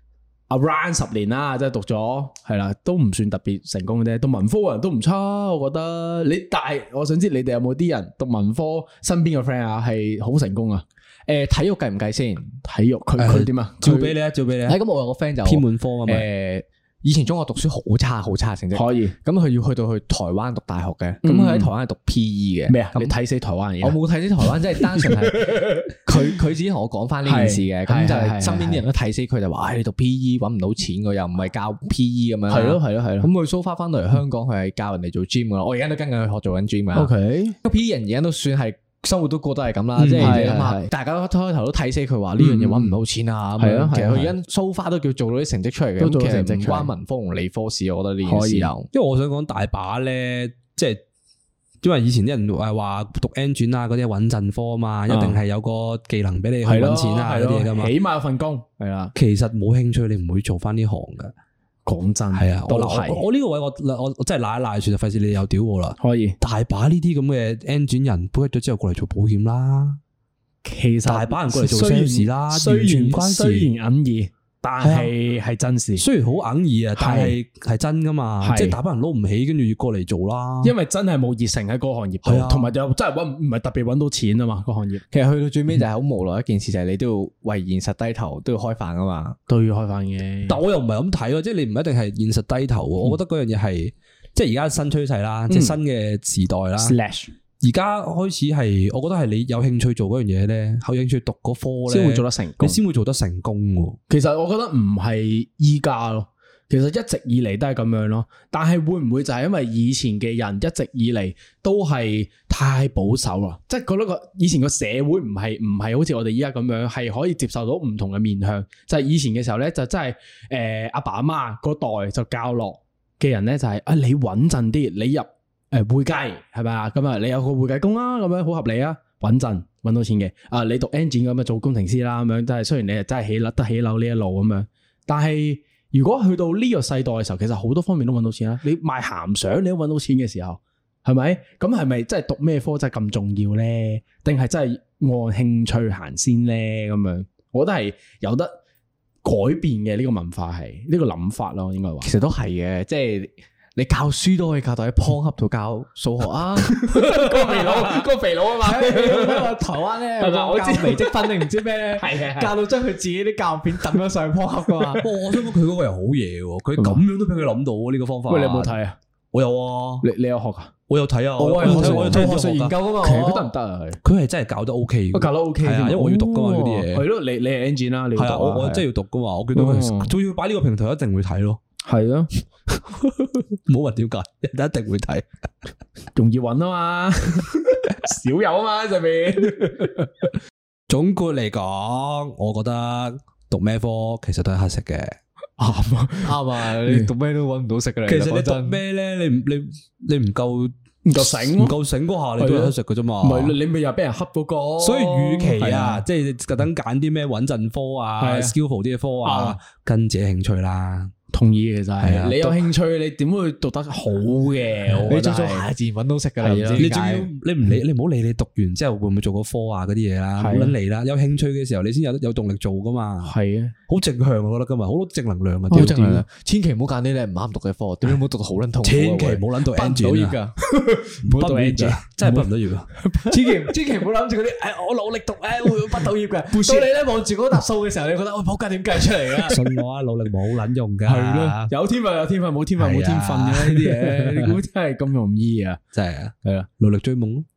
around 十年啦，即係讀咗係啦，都唔算特別成功嘅啫。讀文科嘅人都唔差，我覺得你，但係我想知你哋有冇啲人讀文科身邊嘅 friend 啊係好成功啊？ 誒，體育計唔計先？ 體育佢佢點啊？ 照俾你啊，照俾你啊！ 咁我有個 friend 就偏門科啊嘛。 誒，以前中學讀書好差好差成績， 可以。 咁佢要去到去台灣讀大學嘅，咁佢喺台灣係讀 P E 嘅。 咩啊？你睇死台灣嘢？ 我冇睇死台灣，即係單純係佢佢自己同我講翻呢件事嘅，咁就係身邊啲人都睇死佢，就話：，唉，你讀 P E 搵唔到錢嘅，又唔係教 P E 咁樣。係咯係咯係咯。咁佢 so far 翻到嚟香港，佢係教人哋做 gym 噶啦。我而家都跟緊佢學做緊 gym 啊。O K，P E 人而家都算係。生活都過得係咁啦，即係你諗下，大家都開頭都睇死佢話呢樣嘢搵唔到錢啊，係啊，其實佢而家 so far都叫做到啲成績出嚟嘅，咁其實唔關文科同理科事，我覺得呢件事有。 因為我想講大把咧，即係因為以前啲人係話讀 engine 啊嗰啲穩陣科啊嘛，一定係有個技能俾你去搵錢啊嗰啲嘢噶嘛， 起碼有份工係啦。 其實冇興趣，你唔會做翻呢行噶。 講真係啊，我係我呢個位我我我真係賴一賴算，就費事你又屌我啦。 可以大把呢啲咁嘅 engine 人畢咗之後過嚟做保險啦， 其實大把人過嚟做 sales 啦， 雖然完全唔關事， 雖然隱意，但係係真事。 雖然好隱意啊，但係係真噶嘛，即係大把人撈唔起，跟住要過嚟做啦。 因為真係冇熱誠喺嗰個行業度，同埋又真係搵唔係特別搵到錢啊嘛，個行業。 其實去到最尾就係好無奈一件事，就係你都要為現實低頭，都要開飯啊嘛， 都要開飯嘅。 但我又唔係咁睇咯，即係你唔一定係現實低頭。我覺得嗰樣嘢係即係而家新趨勢啦，即係新嘅時代啦。 Slash 而家開始係，我覺得係你有興趣做嗰樣嘢咧，有興趣讀嗰科咧， 先會做得成功， 你先會做得成功。 其實我覺得唔係依家咯，其實一直以嚟都係咁樣咯。但係會唔會就係因為以前嘅人一直以嚟都係太保守啦？即係覺得個以前個社會唔係唔係好似我哋依家咁樣，係可以接受到唔同嘅面向。就係以前嘅時候咧，就真係誒阿爸阿媽嗰代就教落嘅人咧，就係啊你穩陣啲，你入。誒，會計係咪啊？咁啊，你有個會計工啦，咁樣好合理啊，穩陣搵到錢嘅。啊，你讀 engine 咁啊，做工程師啦，咁樣即係雖然你係真係起樓得起樓呢一路咁樣，但係如果去到呢個世代嘅時候，其實好多方面都搵到錢啦。你賣鹹相你都搵到錢嘅時候，係咪？咁係咪真係讀咩科真係咁重要咧？定係真係按興趣行先咧？咁樣，我覺得係有得改變嘅呢個文化係呢個諗法咯，應該話。 其實都係嘅，即係。你教書都可以教到喺 Pornhub 度教數學啊！ 個肥佬，個肥佬啊嘛！ 台灣咧，我教微積分定唔知咩咧， 係係教到將佢自己啲教片抌咗上 Pornhub 噶嘛。 我想講佢嗰個又好嘢喎，佢咁樣都俾佢諗到呢個方法。 喂，你有冇睇啊？ 我有啊， 你你有學啊？ 我有睇啊， 我有睇， 我有睇學術研究噶嘛。其實佢得唔得啊？ 佢係真係教得 OK， 教得 OK， 因為我要讀噶嘛嗰啲嘢。 係咯，你你係 engine 啦，你係啊，我我真係要讀噶嘛。我見到佢，仲要擺呢個平台，一定會睇咯。 係啊， 唔好話點解，一定會睇， 容易揾啊嘛，少有啊嘛上面。 總括嚟講，我覺得讀咩科其實都係乞食嘅， 啱啊啱啊，你讀咩都揾唔到食嘅。 其實你讀咩咧，你唔你你唔夠唔夠醒，唔夠醒嗰下，你都係乞食嘅啫嘛。 唔係你咪又俾人恰嗰個。 所以與其啊，即係特登揀啲咩穩陣科啊、skillful 啲嘅科啊，跟自己興趣啦。 同意嘅就係，你有興趣，你點會讀得好嘅？ 你做做下自然揾到食噶啦。你仲要你唔理，你唔好理你讀完之後會唔會做個科啊嗰啲嘢啦，冇撚嚟啦。有興趣嘅時候，你先有有動力做噶嘛。係啊，好正向我覺得今日好多正能量啊！ 好正能量，千祈唔好揀啲你唔啱讀嘅科，點解唔好讀到好撚痛？ 千祈唔好撚讀 engine 噶，唔好讀 engine，真係畢唔到業啊！ 千祈千祈唔好諗住嗰啲，誒我努力讀誒會畢到業嘅。到你咧望住嗰沓數嘅時候，你覺得我仆街點計出嚟㗎？ 信我啊，努力冇撚用㗎。 有天分有天分，冇天分冇天分嘅呢啲嘢，你估真係咁容易啊？ 真係啊， 係啊， 努力追夢咯。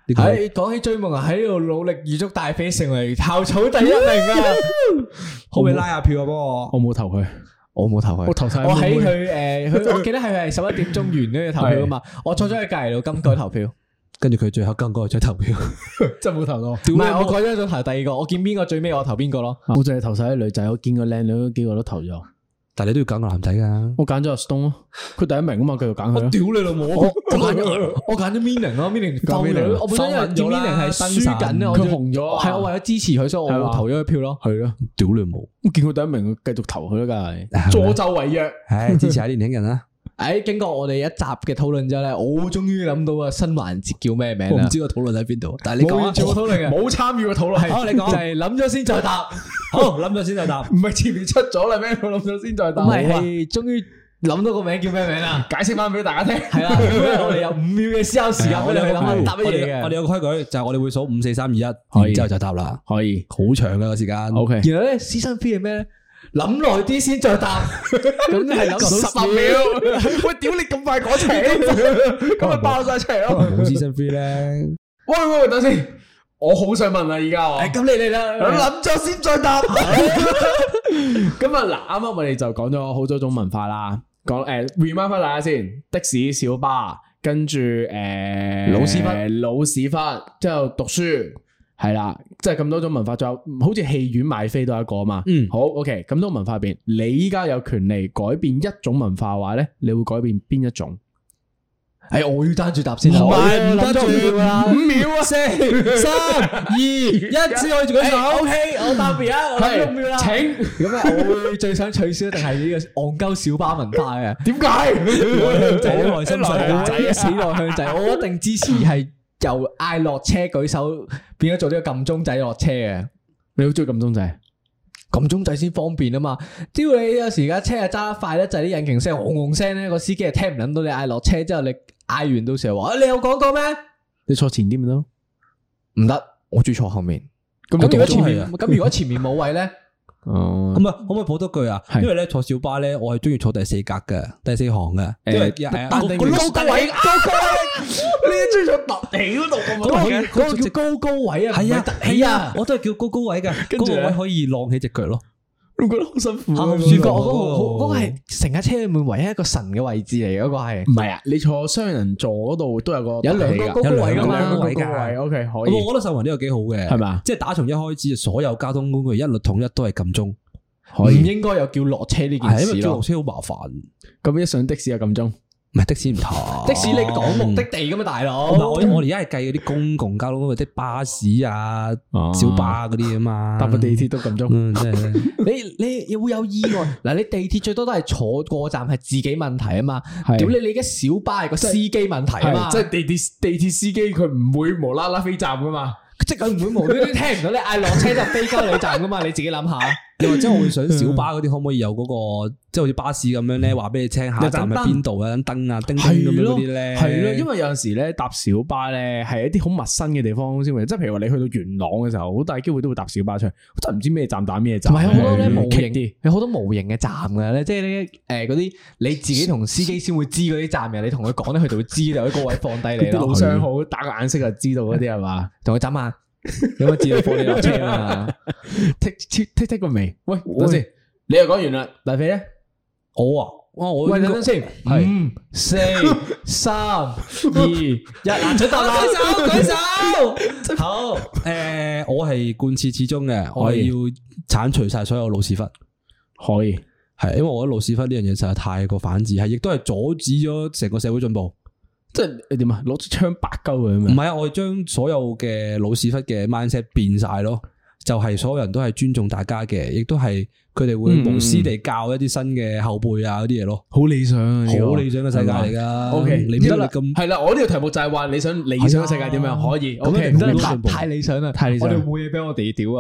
喺講起追夢啊，喺度努力預祝大飛成為校草第一名啊！ 可唔可以拉下票啊？幫我， 我冇投佢， 我冇投佢， 我投晒。 我喺佢誒，佢我記得係係十一點鐘完呢個投票啊嘛，我坐咗喺隔籬度，今改投票。 跟住佢最後跟嗰個再投票， 真係冇投到。唔係我改咗咗投第二個，我見邊個最尾我投邊個咯。 我淨係投晒啲女仔，我見個靚女幾個都投咗。 但係你都要揀個男仔噶。我揀咗阿 Stone 咯，佢第一名啊嘛，繼續揀佢。我屌你老母！我我揀咗我揀咗 Mining 咯 ，Mining 夠女。我本身因為見 Mining 係輸緊啊，佢紅咗。係我為咗支持佢，所以我投咗佢票咯。係咯，屌你老母！我見佢第一名，繼續投佢啦，梗係助紂為虐。唉，支持下年輕人啦。誒，經過我哋一集嘅討論之後咧，我終於諗到個新環節叫咩名啦？我唔知個討論喺邊度，但係你講啊，冇討論嘅，冇參與個討論。好，你講就係諗咗先再答。好，諗咗先再答。唔係前面出咗啦咩？我諗咗先再答。唔係，係終於諗到個名叫咩名啦？解釋翻俾大家聽。係啦，我哋有五秒嘅思考時間俾你去諗下答乜嘢嘅。我哋有個規矩就係我哋會數五四三二一，然之後就答啦。可以，好長嘅個時間。O K。然後咧，season three係咩咧？諗耐啲先再答，咁係諗十秒。喂，屌你咁快講齊，咁咪爆晒出嚟咯。冇 season three 咧。喂喂，等先，我好想問啊，而家我。咁你嚟啦，諗咗先再答。咁啊嗱，啱啱我哋就講咗好多種文化啦，講誒 remind 翻大家先，的士、小巴，跟住誒老屎忽、老屎忽，之後讀書。係啦，即係咁多種文化，仲有好似戲院買飛都係一個啊嘛。嗯，好 ，OK，咁多文化入邊，你依家有權利改變一種文化嘅話咧，你會改變邊一種？誒，我要單住答先啦，唔係唔單住啦，五秒啊，四、三、二、一，先可以做緊手。O K，我答別啊，係五秒啦，請。咁啊，我會最想取消定係呢個戇鳩小巴文化嘅？點解？內向仔，內心世界，死內向仔，我一定支持係。由嗌落車舉手變咗做呢個撳鐘仔落車嘅，你好中意撳鐘仔？撳鐘仔先方便啊嘛！只要你有時而家車啊揸得快咧，就係啲引擎聲轟轟聲咧，個司機係聽唔撚到你嗌落車之後，你嗌完到時候話，你有講過咩？你坐前啲咪得咯？唔得，我中意坐後面。咁如果前面咁如果前面冇位咧？哦，咁啊，可唔可以補多句啊？因為咧坐小巴咧，我係中意坐第四格嘅，第四行嘅。誒，但係個高高位，高高位，你中意坐凸起嗰度咁啊？嗰個叫高高位啊，係啊，凸起啊，我都係叫高高位嘅，嗰個位可以晾起隻腳咯。我覺得好辛苦啊！主角嗰個好，嗰個係成架車裏面唯一一個神嘅位置嚟嘅，嗰個係。唔係啊，你坐雙人座嗰度都有個有兩個高高位噶嘛，兩個位嘅。O K，可以。我覺得秀雲呢個幾好嘅，係咪？即係打從一開始，所有交通工具一律統一都係撳鐘，唔應該有叫落車呢件事咯。因為叫落車好麻煩。咁一上的士就撳鐘。唔係的士唔同，的士你講目的地噶嘛，大佬。我我哋而家係計嗰啲公共交通工具，即係巴士啊、小巴嗰啲啊嘛。搭個地鐵都咁鐘，嗯，真係。你你會有意外嗱，你地鐵最多都係坐過站係自己問題啊嘛。屌你你而家小巴係個司機問題啊嘛。即係地鐵地鐵司機佢唔會無啦啦飛站噶嘛。即係佢唔會無端端聽唔到你嗌落車就飛鳩你站噶嘛。你自己諗下。又或者我會想小巴嗰啲可唔可以有嗰個，即係好似巴士咁樣咧，話俾你聽下一站喺邊度啊，燈啊，叮叮咁樣嗰啲咧。係咯，因為有陣時咧搭小巴咧係一啲好陌生嘅地方先會，即係譬如話你去到元朗嘅時候，好大機會都會搭小巴出去，真係唔知咩站打咩站。唔係好多咧模型，有好多模型嘅站噶咧，即係咧誒嗰啲你自己同司機先會知嗰啲站嘅，你同佢講咧，佢就會知就喺嗰位放低你咯。路上好打個眼色就知道嗰啲係嘛，同佢眨下。有冇自動放你落車啊？剔剔剔剔個未？喂，等先，你又講完啦，大肥咧？我啊，哇，我喂，等等先，五、四、三、二、一，嗱，準答啦，舉手，舉手，好，誒，我係貫徹始終嘅，我係要鏟除晒所有老屎忽，可以，係，因為我覺得老屎忽呢樣嘢實在太過反智，係，亦都係阻止咗成個社會進步。即係你點啊？攞支槍白鳩佢咩？唔係啊！我哋將所有嘅老屎忽嘅 mindset 變晒咯，就係、是、所有人都係尊重大家嘅，亦都係佢哋會無私地教一啲新嘅後輩啊嗰啲嘢咯。好理想啊！好理想嘅世界嚟噶。O K，你唔得啦咁係啦。我呢個題目就係話你想理想嘅世界點樣可以？O K，唔得太太理想啦，太理想。我哋冇嘢俾我哋屌啊！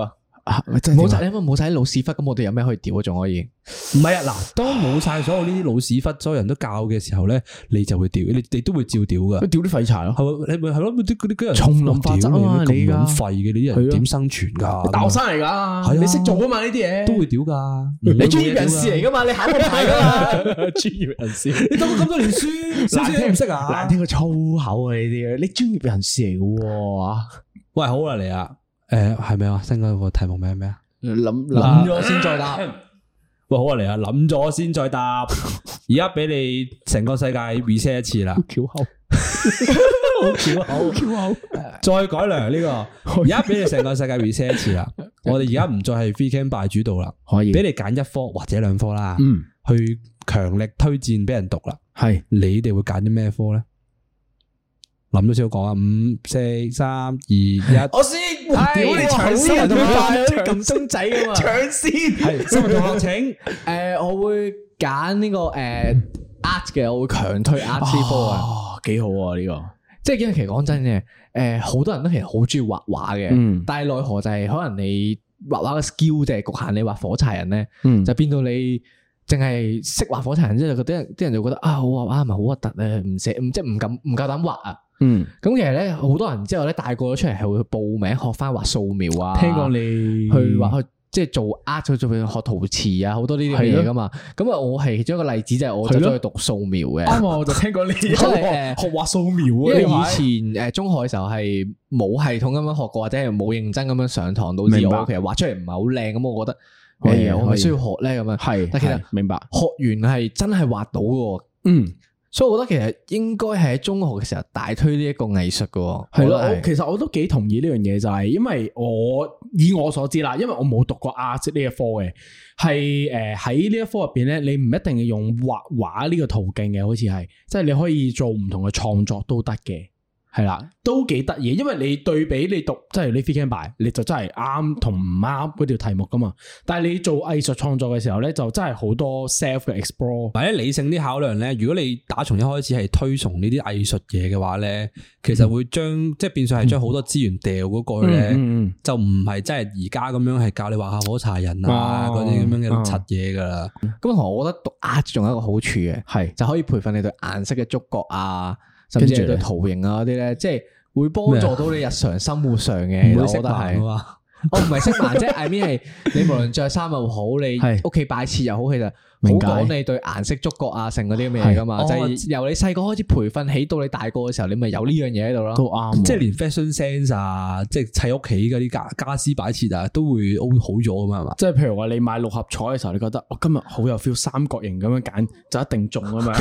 冇晒，因為冇晒啲老屎忽，咁我哋有咩可以屌啊？仲可以？ 唔係啊，嗱，當冇晒所有呢啲老屎忽，所有人都教嘅時候咧，你就會屌，你你都會照屌噶。 屌啲廢柴咯， 係你咪係咯，啲嗰啲人叢林法則啊嘛，你咁撚廢嘅，你啲人點生存㗎？ 大學生嚟㗎，你識做啊嘛呢啲嘢， 都會屌㗎。 你專業人士嚟㗎嘛，你考過牌㗎嘛， 專業人士。 你讀咗咁多年書，少少都唔識啊？ 難聽過粗口啊呢啲，你專業人士嚟嘅喎。喂，好啦，嚟啊！ 誒，係咪啊？新嗰個題目名係咩啊？ 諗諗咗先再答。 喂，好啊，嚟啊！諗咗先再答。而家俾你成個世界 reset 一次啦。 巧口， 好巧口，巧口。再改良呢個。而家俾你成個世界 reset 一次啦。我哋而家唔再係 free camp by 主導啦，可以俾你揀一科或者兩科啦。嗯，去強力推薦俾人讀啦。係，你哋會揀啲咩科咧？諗咗先好講啊！五、四、三、二、一，我先。屌你搶先，咁快撳鐘仔噶嘛？搶先。係，新聞同學請。 誒，我會揀呢個誒 art 嘅，我會強推 art 呢科啊。 幾好啊呢個！ 即係因為其實講真嘅，誒，好多人都其實好中意畫畫嘅。嗯。但係奈何就係可能你畫畫嘅 skill 就係局限你畫火柴人咧。嗯。就變到你淨係識畫火柴人之後，嗰啲人啲人就覺得啊，我畫畫係咪好核突咧？唔寫，唔即係唔敢唔夠膽畫啊！嗯，咁其實咧，好多人之後咧大個咗出嚟係會去報名學翻畫素描啊。聽講你去畫去即係做 art 去做學陶瓷啊，好多呢啲嘢噶嘛。咁啊，我係其中一個例子就係我走咗去讀素描嘅。啱啊，我就聽講你學學畫素描啊。因為以前誒中學嘅時候係冇系統咁樣學過，或者係冇認真咁樣上堂，導致我其實畫出嚟唔係好靚。咁我覺得誒，我咪需要學咧咁樣。係，但其實明白學完係真係畫到嘅。嗯。所以我覺得其實應該係喺中學嘅時候大推呢一個藝術嘅，係咯。其實我都幾同意呢樣嘢，就係因為我以我所知啦，因為我冇讀過 art 呢一科嘅，係誒喺呢一科入邊咧，你唔一定要用畫畫呢個途徑嘅，好似係，即係你可以做唔同嘅創作都得嘅。係啦，都幾得意，因為你對比你讀即係你 free camp by，你就真係啱同唔啱嗰條題目噶嘛。但係你做藝術創作嘅時候咧，就真係好多 self 嘅 explore，或者理性啲考量咧。如果你打從一開始係推崇呢啲藝術嘢嘅話咧，其實會將、嗯、即係變相係將好多資源掉嗰個咧，嗯嗯嗯、就唔係真係而家咁樣係教你畫下火柴人啊嗰啲咁樣嘅柒嘢噶啦。咁同、嗯嗯、我覺得讀 art 仲有一個好處嘅，係就可以培訓你對顏色嘅觸覺啊。甚至係對圖形啊嗰啲咧，即係會幫助到你日常生活上嘅。我覺得係，我唔係識盲，即係 I mean 係你無論着衫又好，你屋企擺設又好，其實好講你對顏色觸覺啊，成嗰啲咁嘅嘢噶嘛。就係由你細個開始培訓起到你大個嘅時候，你咪有呢樣嘢喺度咯。都啱，即係連 fashion sense 啊，即係砌屋企嗰啲家家私擺設啊，都會好咗噶嘛，係嘛？即係譬如話你買六合彩嘅時候，你覺得我今日好有 feel，三角形咁樣揀就一定中啊嘛。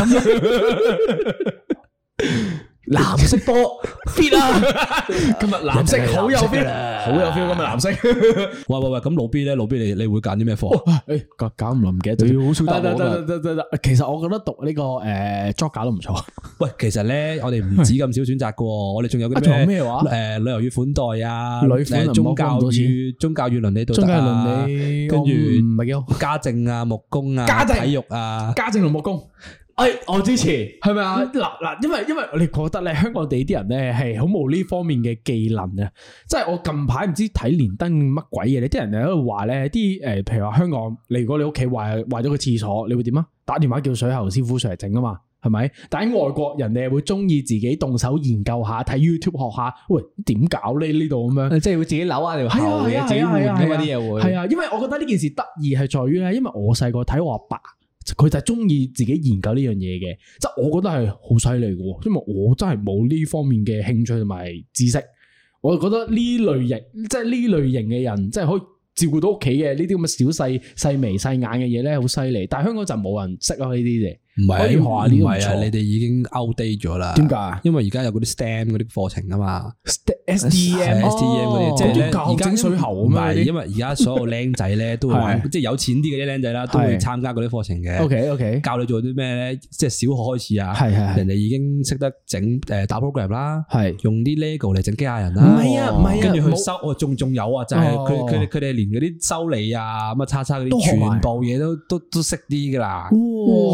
藍色波 fit 啊！今日藍色好有 feel， 好有 feel。今日藍色。喂喂喂，咁老 B 咧，老 B 你你會揀啲咩科？誒，搞搞唔諗唔記得咗，好少答我噶。得得得，其實我覺得讀呢個誒作假都唔錯。喂，其實咧，我哋唔止咁少選擇噶，我哋仲有嗰啲咩話？誒，旅遊與款待啊，誒，宗教與宗教與倫理道德啊，跟住唔係叫家政啊、木工啊、體育啊、家政同木工。哎，我支持，係咪啊？嗱嗱，因為因為我哋覺得咧，香港地啲人咧係好冇呢方面嘅技能啊！即係我近排唔知睇連登乜鬼嘢，你啲人喺度話咧，啲誒，譬如話香港，你如果你屋企壞壞咗個廁所，你會點啊？打電話叫水喉師傅上嚟整啊嘛，係咪？但喺外國人哋會中意自己動手研究下，睇 YouTube 學下，喂，點搞呢呢度咁樣？即係會自己扭下條喉嘅，自己換咁啲嘢會。係啊，因為我覺得呢件事得意係在於咧，因為我細個睇我阿爸。佢就係中意自己研究呢樣嘢嘅，即係我覺得係好犀利嘅，因為我真係冇呢方面嘅興趣同埋知識，我覺得呢類型，即係呢類型嘅人，即係可以照顧到屋企嘅呢啲咁嘅小細細眉細眼嘅嘢咧，好犀利。但係香港就冇人識啊呢啲嘢。唔係啊，唔係啊，你哋已經 outdate 咗啦。點解？因為而家有嗰啲 STEM 嗰啲課程啊嘛 ，S T M、S T M 嗰啲，即係而家整水喉咁樣。因為而家所有僆仔咧都會玩，即係有錢啲嘅啲僆仔啦，都會參加嗰啲課程嘅。OK OK，教你做啲咩咧？即係小學開始啊，係係，人哋已經識得整誒打 program 啦，係用啲 Lego 嚟整機械人啦。唔係啊，唔係啊，跟住去修，哦，仲仲有啊，就係佢佢哋佢哋連嗰啲修理啊，咁啊叉叉嗰啲，全部嘢都都都識啲噶啦。哇！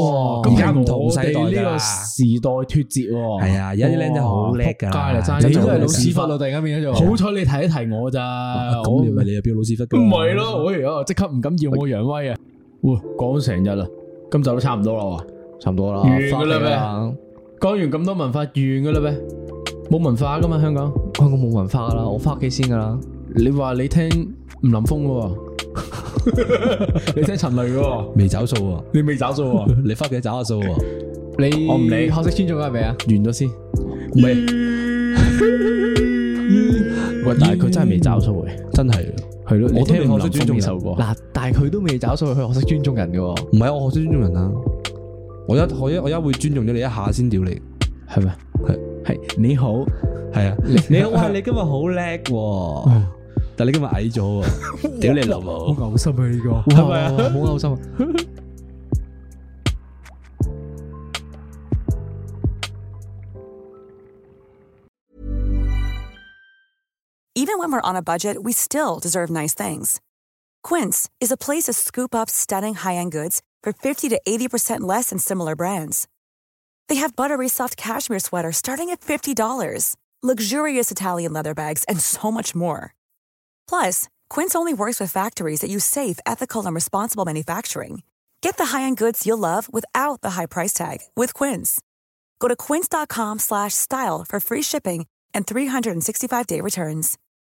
而家唔同世代㗎呢個時代脫節喎。 係啊，而家啲僆仔好叻㗎， 仆街啦真係你都係老屎忽咯，突然間變咗做。 好彩你提一提我咋， 咁你咪你又變老屎忽㗎？ 唔係咯，我而家即刻唔敢耀我揚威啊！哇，講咗成日啦，今集都差唔多啦喎， 差唔多啦， 完噶啦咩？講完咁多文化，完噶啦咩？冇文化噶嘛，香港香港冇文化噶啦，我翻屋企先噶啦。 你話你聽吳林峰嘅，你聽陳雷嘅， 未找數喎， 你未找數喎， 你翻屋企找下數喎。 你我唔理， 學識尊重係咪啊？ 完咗先，唔係，喂，但係佢真係未找數嘅， 真係係咯， 我都未你聽吳林學識尊重人峰呢首歌， 嗱，但係佢都未找數，佢學識尊重人嘅。 唔係啊，我學識尊重人啊。我一我一我一會尊重咗你一下先屌你， 係咪？ 係係你好， 係啊，你好哇！你今日好叻喎，但你今日矮咗喎，屌你老母！ 好嘔心啊呢個， 係咪啊？ 好嘔心啊！ Even when we're on a budget, we still deserve nice things. Quince is a place to scoop up stunning high-end goods for fifty to eighty percent less than similar brands. They have buttery soft cashmere sweaters starting at fifty dollars, luxurious Italian leather bags, and so much more. Plus, Quince only works with factories that use safe, ethical, and responsible manufacturing. Get the high-end goods you'll love without the high price tag with Quince. Go to quince.com slash style for free shipping and three sixty-five day returns.